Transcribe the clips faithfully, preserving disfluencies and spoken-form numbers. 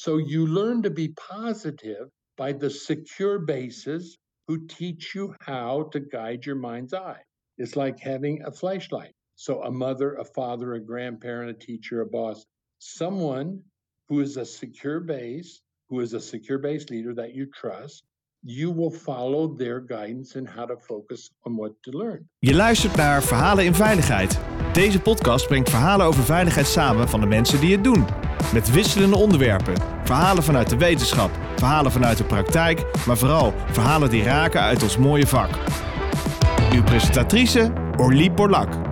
So you learn to be positive by the secure bases who teach you how to guide your mind's eye. It's like having a flashlight. So a mother, a father, a grandparent, a teacher, a boss, someone who is a secure base, who is a secure base leader that you trust, you will follow their guidance in how to focus on what to learn. Je luistert naar Verhalen in Veiligheid. Deze podcast brengt verhalen over veiligheid samen van de mensen die het doen. Met wisselende onderwerpen. Verhalen vanuit de wetenschap, verhalen vanuit de praktijk, maar vooral verhalen die raken uit ons mooie vak. Uw presentatrice Orlie Borlak.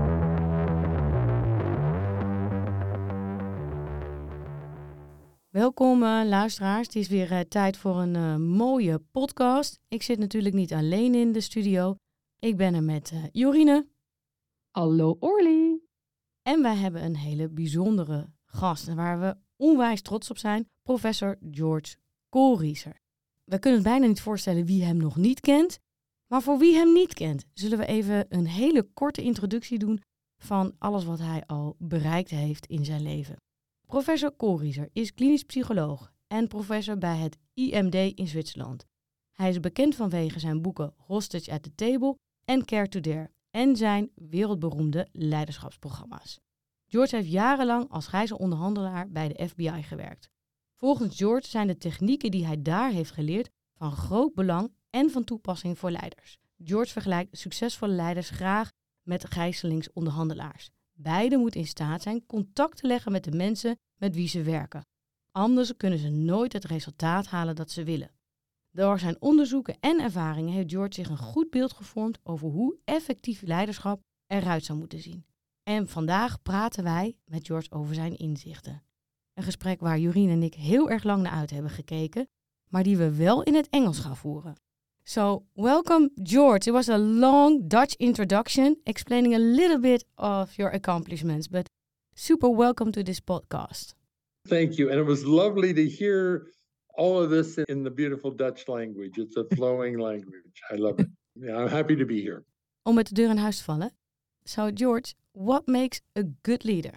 Welkom uh, luisteraars, het is weer uh, tijd voor een uh, mooie podcast. Ik zit natuurlijk niet alleen in de studio. Ik ben er met uh, Jorine. Hallo Orlie. En wij hebben een hele bijzondere gast waar we onwijs trots op zijn. Professor George Koolrieser. We kunnen het bijna niet voorstellen wie hem nog niet kent. Maar voor wie hem niet kent, zullen we even een hele korte introductie doen van alles wat hij al bereikt heeft in zijn leven. Professor Koolrieser is klinisch psycholoog en professor bij het I M D in Zwitserland. Hij is bekend vanwege zijn boeken Hostage at the Table en Care to Dare en zijn wereldberoemde leiderschapsprogramma's. George heeft jarenlang als gijzelonderhandelaar bij de F B I gewerkt. Volgens George zijn de technieken die hij daar heeft geleerd van groot belang en van toepassing voor leiders. George vergelijkt succesvolle leiders graag met gijzelingsonderhandelaars. Beiden moeten in staat zijn contact te leggen met de mensen met wie ze werken. Anders kunnen ze nooit het resultaat halen dat ze willen. Door zijn onderzoeken en ervaringen heeft George zich een goed beeld gevormd over hoe effectief leiderschap eruit zou moeten zien. En vandaag praten wij met George over zijn inzichten. Een gesprek waar Jorien en ik heel erg lang naar uit hebben gekeken, maar die we wel in het Engels gaan voeren. So, welcome George. It was a long Dutch introduction explaining a little bit of your accomplishments, but super welcome to this podcast. Thank you. And it was lovely to hear all of this in the beautiful Dutch language. It's a flowing language. I love it. Yeah, I'm happy to be here. Om met de deur in huis te vallen. So, George, what makes a good leader?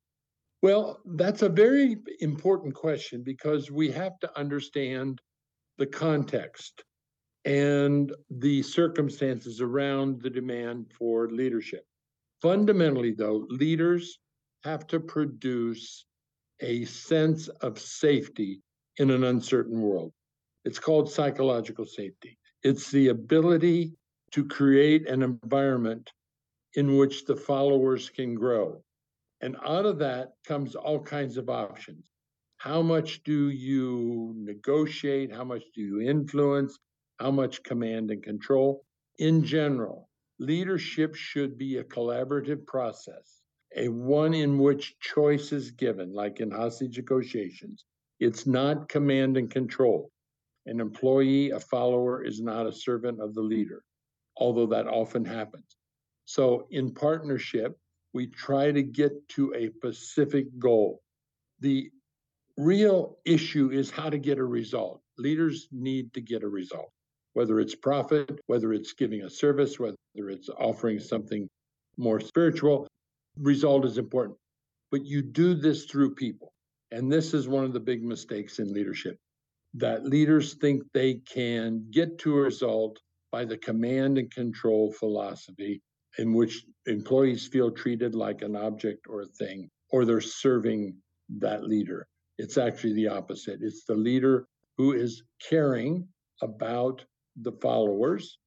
Well, that's a very important question because we have to understand the context and the circumstances around the demand for leadership. Fundamentally, though, leaders have to produce a sense of safety in an uncertain world. It's called psychological safety. It's the ability to create an environment in which the followers can grow. And out of that comes all kinds of options. How much do you negotiate? How much do you influence? How much command and control? In general, leadership should be a collaborative process, a one in which choice is given, like in hostage negotiations. It's not command and control. An employee, a follower, is not a servant of the leader, although that often happens. So in partnership, we try to get to a specific goal. The real issue is how to get a result. Leaders need to get a result, whether it's profit, whether it's giving a service, whether it's offering something more spiritual. Result is important. But you do this through people. And this is one of the big mistakes in leadership, that leaders think they can get to a result by the command and control philosophy in which employees feel treated like an object or a thing, or they're serving that leader. It's actually the opposite. It's the leader who is caring about the followers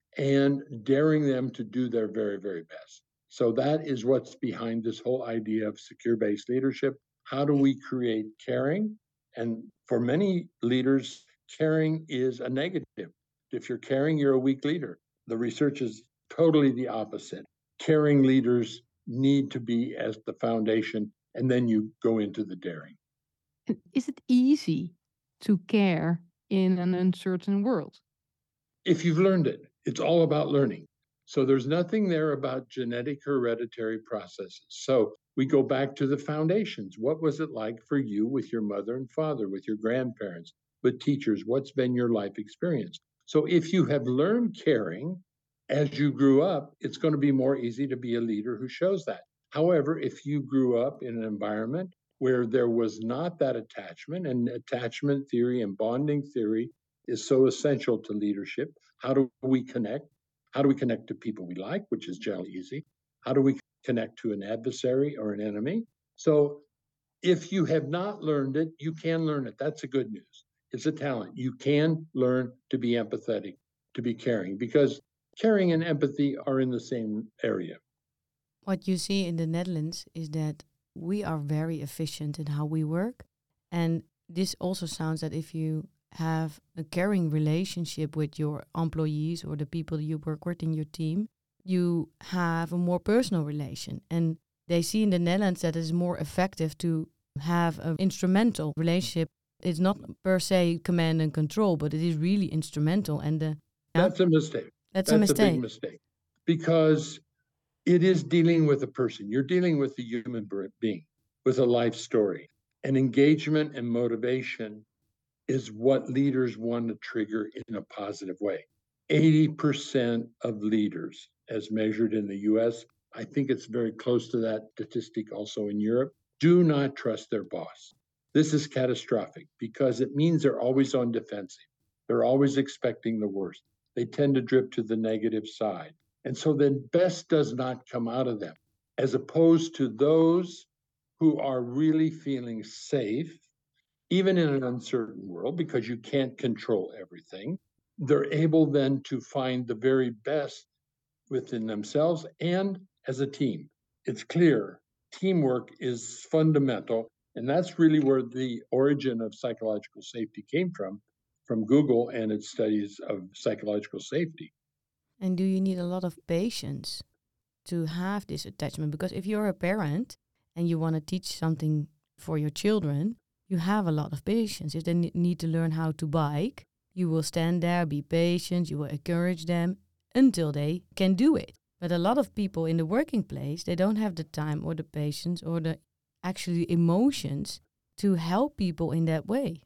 and daring them to do their very, very best. So that is what's behind this whole idea of secure-based leadership. How do we create caring? And for many leaders, caring is a negative. If you're caring, you're a weak leader. The research is totally the opposite. Caring leaders need to be as the foundation, and then you go into the daring. And is it easy to care in an uncertain world? If you've learned it, it's all about learning. So there's nothing there about genetic hereditary processes. So we go back to the foundations. What was it like for you with your mother and father, with your grandparents, with teachers? What's been your life experience? So if you have learned caring as you grew up, it's going to be more easy to be a leader who shows that. However, if you grew up in an environment where there was not that attachment, and attachment theory and bonding theory is so essential to leadership. How do we connect? How do we connect to people we like, which is generally easy? How do we connect to an adversary or an enemy? So if you have not learned it, you can learn it. That's the good news. It's a talent. You can learn to be empathetic, to be caring, because caring and empathy are in the same area. What you see in the Netherlands is that we are very efficient in how we work. And this also sounds that if you have a caring relationship with your employees or the people you work with in your team, you have a more personal relation. And they see in the Netherlands that it's more effective to have an instrumental relationship. It's not per se command and control, but it is really instrumental. And the, yeah, That's a mistake. that's, That's a a mistake. big mistake, because it is dealing with a person. You're dealing with a human being with a life story. And engagement and motivation is what leaders want to trigger in a positive way. eighty percent of leaders, as measured in the U S, I think it's very close to that statistic also in Europe, do not trust their boss. This is catastrophic because it means they're always on defensive. They're always expecting the worst. They tend to drift to the negative side. And so then best does not come out of them, as opposed to those who are really feeling safe, even in an uncertain world, because you can't control everything. They're able then to find the very best within themselves and as a team. It's clear teamwork is fundamental. And that's really where the origin of psychological safety came from, from Google and its studies of psychological safety. And do you need a lot of patience to have this attachment? Because if you're a parent and you want to teach something for your children, you have a lot of patience. If they ne- need to learn how to bike, you will stand there, be patient, you will encourage them until they can do it. But a lot of people in the working place, they don't have the time or the patience or the actually emotions to help people in that way.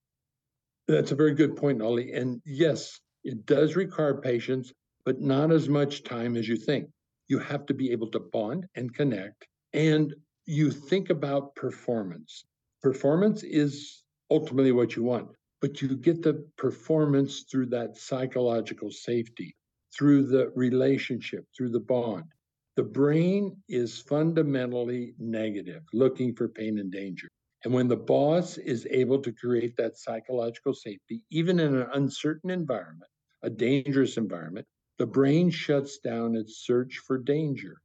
That's a very good point, Ollie. And yes, it does require patience, but not as much time as you think. You have to be able to bond and connect. And you think about performance. Performance is ultimately what you want, but you get the performance through that psychological safety, through the relationship, through the bond. The brain is fundamentally negative, looking for pain and danger. And when the boss is able to create that psychological safety, even in an uncertain environment, a dangerous environment, the brain shuts down its search for danger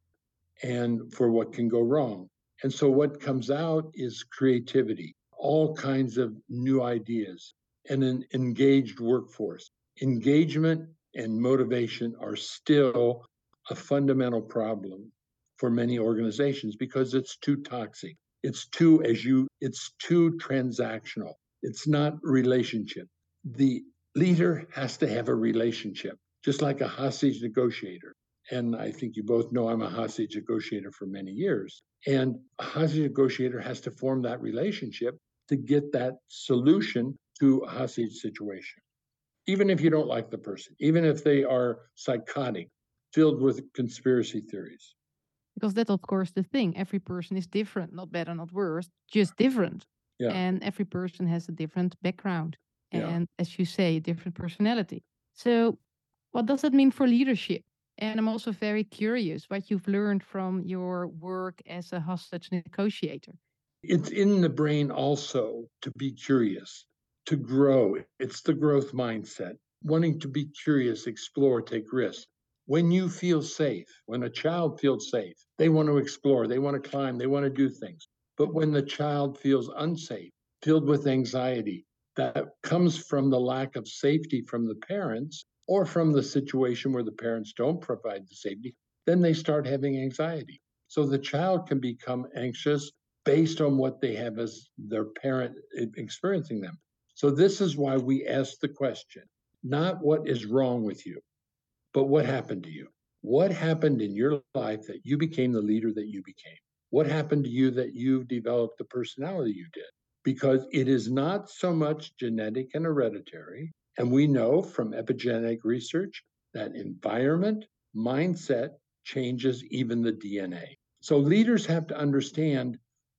and for what can go wrong. And so what comes out is creativity, all kinds of new ideas, and an engaged workforce. Engagement and motivation are still a fundamental problem for many organizations because it's too toxic. It's too, as you, it's too transactional. It's not relationship. The leader has to have a relationship, just like a hostage negotiator. And I think you both know I'm a hostage negotiator for many years. And a hostage negotiator has to form that relationship to get that solution to a hostage situation. Even if you don't like the person, even if they are psychotic, filled with conspiracy theories. Because that's, of course, the thing. Every person is different, not better, not worse, just different. Yeah. And every person has a different background. Yeah. And as you say, a different personality. So what does that mean for leadership? And I'm also very curious what you've learned from your work as a hostage negotiator. It's in the brain also to be curious, to grow. It's the growth mindset, wanting to be curious, explore, take risks. When you feel safe, when a child feels safe, they want to explore, they want to climb, they want to do things. But when the child feels unsafe, filled with anxiety, that comes from the lack of safety from the parents or from the situation where the parents don't provide the safety, then they start having anxiety. So the child can become anxious based on what they have as their parent experiencing them. So this is why we ask the question, not what is wrong with you, but what happened to you? What happened in your life that you became the leader that you became? What happened to you that you developed the personality you did? Because it is not so much genetic and hereditary. And we know from epigenetic research that environment, mindset changes even the D N A. So leaders have to understand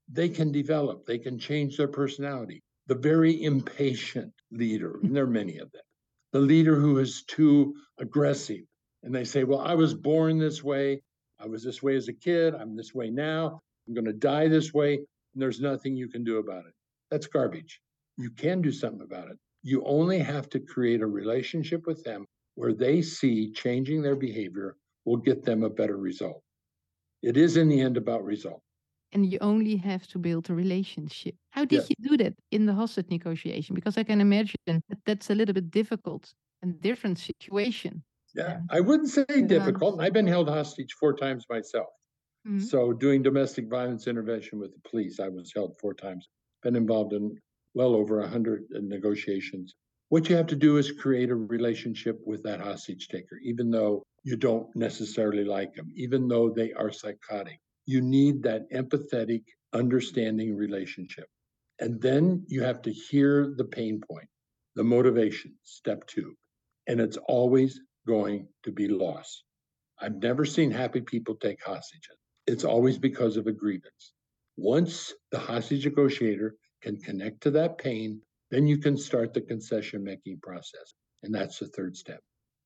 they can develop, they can change their personality. The very impatient leader, and there are many of them, the leader who is too aggressive, and they say, well, I was born this way. I was this way as a kid. I'm this way now. I'm going to die this way. And there's nothing you can do about it. That's garbage. You can do something about it. You only have to create a relationship with them where they see changing their behavior will get them a better result. It is in the end about result. And you only have to build a relationship. How did Yes. you do that in the hostage negotiation? Because I can imagine that that's a little bit difficult and different situation. Yeah, Yeah. I wouldn't say Yeah. difficult. I've been held hostage four times myself. Mhm. So doing domestic violence intervention with the police, I was held four times. Been involved in well over a hundred negotiations. What you have to do is create a relationship with that hostage taker, even though you don't necessarily like them, even though they are psychotic. You need that empathetic, understanding relationship. And then you have to hear the pain point, the motivation, step two. And it's always going to be loss. I've never seen happy people take hostages. It's always because of a grievance. Once the hostage negotiator can connect to that pain, then you can start the concession making process. And that's the third step.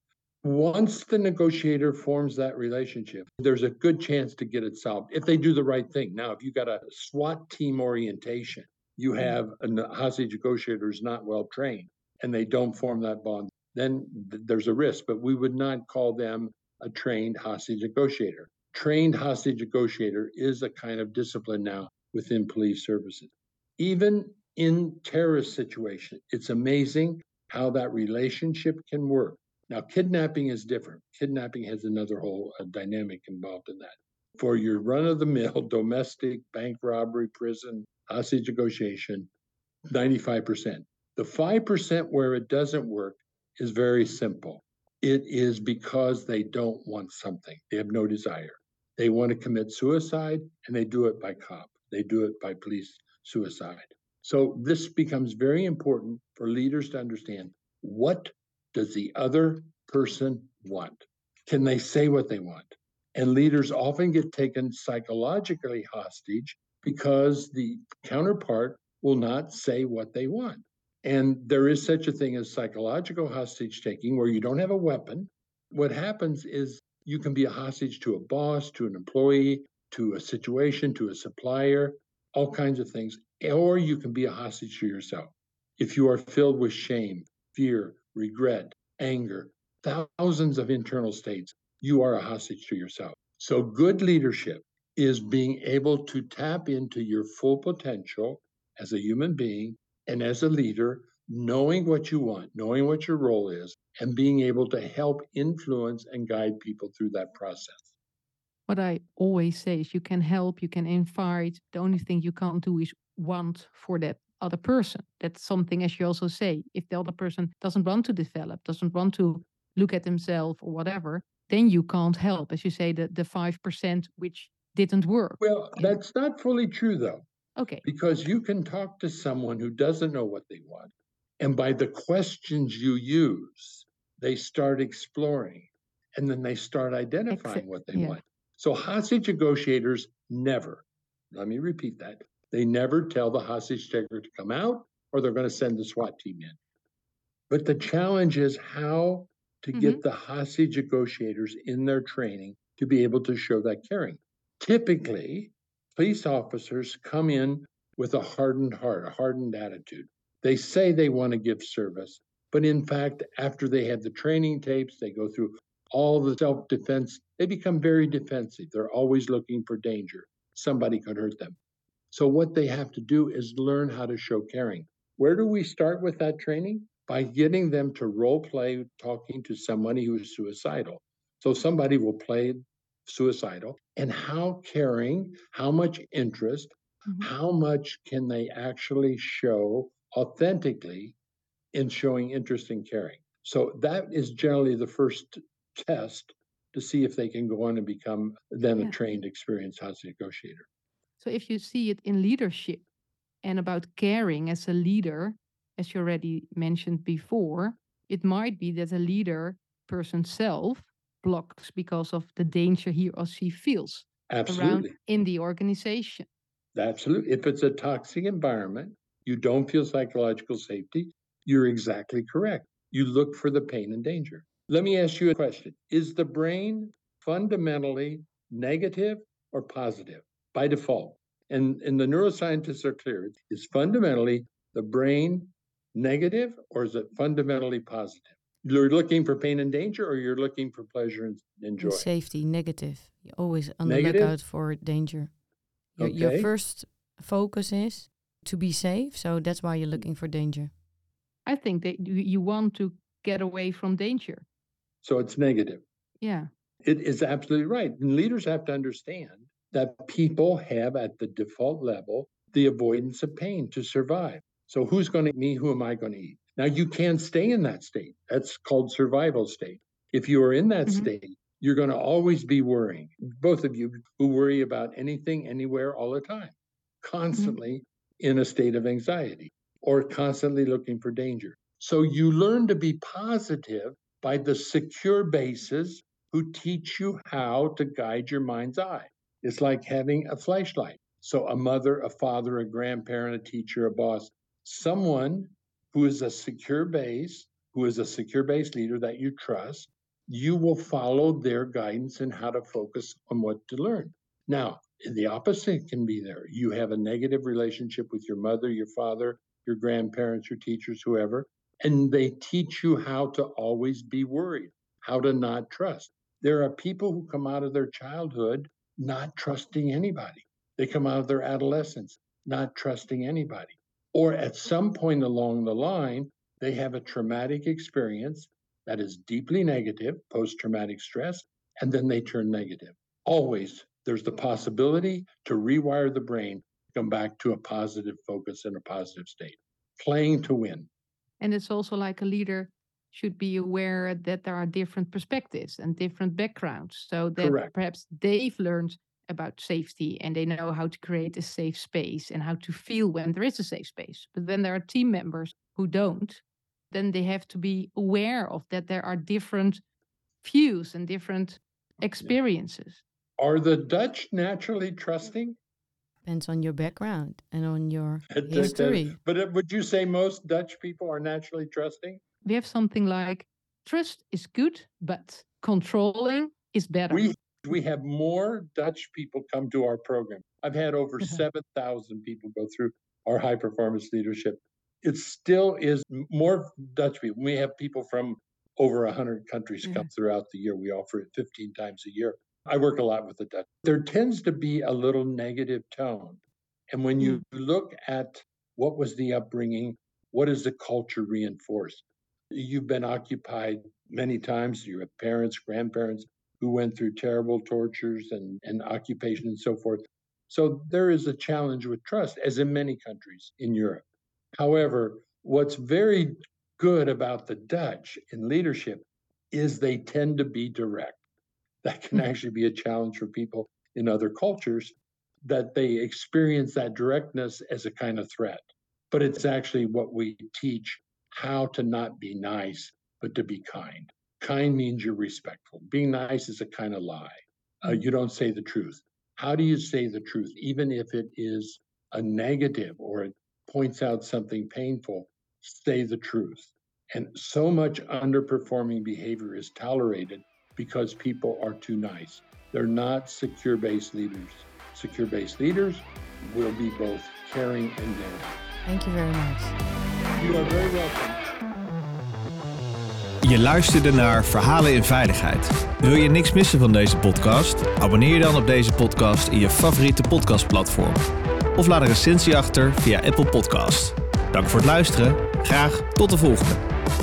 Once the negotiator forms that relationship, there's a good chance to get it solved if they do the right thing. Now, if you got a SWAT team orientation, you have a hostage negotiator who's not well trained and they don't form that bond, then th- there's a risk. But we would not call them a trained hostage negotiator. Trained hostage negotiator is a kind of discipline now within police services. Even in terrorist situation, it's amazing how that relationship can work. Now, kidnapping is different. Kidnapping has another whole uh, dynamic involved in that. For your run-of-the-mill domestic bank robbery, prison, hostage negotiation, ninety-five percent. The five percent where it doesn't work is very simple. It is because they don't want something. They have no desire. They want to commit suicide, and they do it by cop. They do it by police suicide. So this becomes very important for leaders to understand, what does the other person want? Can they say what they want? And leaders often get taken psychologically hostage because the counterpart will not say what they want. And there is such a thing as psychological hostage taking, where you don't have a weapon. What happens is you can be a hostage to a boss, to an employee, to a situation, to a supplier, all kinds of things. Or you can be a hostage to yourself. If you are filled with shame, fear, regret, anger, thousands of internal states, you are a hostage to yourself. So good leadership is being able to tap into your full potential as a human being and as a leader, knowing what you want, knowing what your role is, and being able to help influence and guide people through that process. What I always say is you can help, you can invite. The only thing you can't do is want for that other person. That's something, as you also say, if the other person doesn't want to develop, doesn't want to look at himself or whatever, then you can't help. As you say, the, the five percent which didn't work. Well, that's not fully true, though. Okay. Because you can talk to someone who doesn't know what they want. And by the questions you use, they start exploring, and then they start identifying Exa- what they yeah. want. So hostage negotiators never, let me repeat that, they never tell the hostage taker to come out, or they're going to send the SWAT team in. But the challenge is how to get Mhm. the hostage negotiators in their training to be able to show that caring. Typically, police officers come in with a hardened heart, a hardened attitude. They say they want to give service, but in fact, after they have the training tapes, they go through all the self-defense, they become very defensive. They're always looking for danger. Somebody could hurt them. So what they have to do is learn how to show caring. Where do we start with that training? By getting them to role play talking to somebody who is suicidal. So somebody will play suicidal, and how caring, how much interest, Mhm. how much can they actually show authentically in showing interest and caring. So that is generally the first test to see if they can go on and become then a Yeah. trained, experienced hostage negotiator. So if you see it in leadership and about caring as a leader, as you already mentioned before, it might be that a leader person self blocks because of the danger he or she feels around Absolutely. in the organization. Absolutely. If it's a toxic environment, you don't feel psychological safety, you're exactly correct. You look for the pain and danger. Let me ask you a question. Is the brain fundamentally negative or positive by default? And, and the neuroscientists are clear. Is fundamentally the brain negative or is it fundamentally positive? You're looking for pain and danger or you're looking for pleasure and, and joy? And safety, negative. You're always on the Negative? lookout for danger. Your, your Okay. first focus is to be safe, so that's why you're looking for danger. I think that you, you want to get away from danger. So it's negative. Yeah. It is absolutely right. And leaders have to understand that people have at the default level the avoidance of pain to survive. So who's going to eat me? Who am I going to eat? Now you can't stay in that state. That's called survival state. If you are in that Mhm. state, you're going to always be worrying. Both of you who worry about anything, anywhere, all the time, constantly in a state of anxiety or constantly looking for danger. So you learn to be positive by the secure bases who teach you how to guide your mind's eye. It's like having a flashlight. So a mother, a father, a grandparent, a teacher, a boss, someone who is a secure base, who is a secure base leader that you trust, you will follow their guidance in how to focus on what to learn. Now, the opposite can be there. You have a negative relationship with your mother, your father, your grandparents, your teachers, whoever, and they teach you how to always be worried, how to not trust. There are people who come out of their childhood not trusting anybody. They come out of their adolescence not trusting anybody. Or at some point along the line, they have a traumatic experience that is deeply negative, post-traumatic stress, and then they turn negative. Always, there's the possibility to rewire the brain, come back to a positive focus and a positive state, playing to win. And it's also like a leader should be aware that there are different perspectives and different backgrounds. So that Correct. perhaps they've learned about safety and they know how to create a safe space and how to feel when there is a safe space. But then there are team members who don't. Then they have to be aware of that there are different views and different experiences. Are the Dutch naturally trusting? Depends on your background and on your It- it- history. But uh, would you say most Dutch people are naturally trusting? We have something like trust is good, but controlling is better. We we have more Dutch people come to our program. I've had over seven thousand people go through our high performance leadership. It still is more Dutch people. We have people from over one hundred countries come throughout the year. We offer it fifteen times a year. I work a lot with the Dutch. There tends to be a little negative tone. And when you look at what was the upbringing, what is the culture reinforced? You've been occupied many times. You have parents, grandparents who went through terrible tortures and, and occupation and so forth. So there is a challenge with trust, as in many countries in Europe. However, what's very good about the Dutch in leadership is they tend to be direct. That can actually be a challenge for people in other cultures, that they experience that directness as a kind of threat. But it's actually what we teach, how to not be nice, but to be kind. Kind means you're respectful. Being nice is a kind of lie. Uh, you don't say the truth. How do you say the truth, even if it is a negative or it points out something painful? Say the truth. And so much underperforming behavior is tolerated because people are too nice. They're not secure-based leaders. Secure-based leaders will be both caring and daring. Thank you very much. You are very welcome. Je luisterde naar Verhalen in Veiligheid. Wil je niks missen van deze podcast? Abonneer je dan op deze podcast in je favoriete podcastplatform. Of laat een recensie achter via Apple Podcast. Dank voor het luisteren. Graag tot de volgende.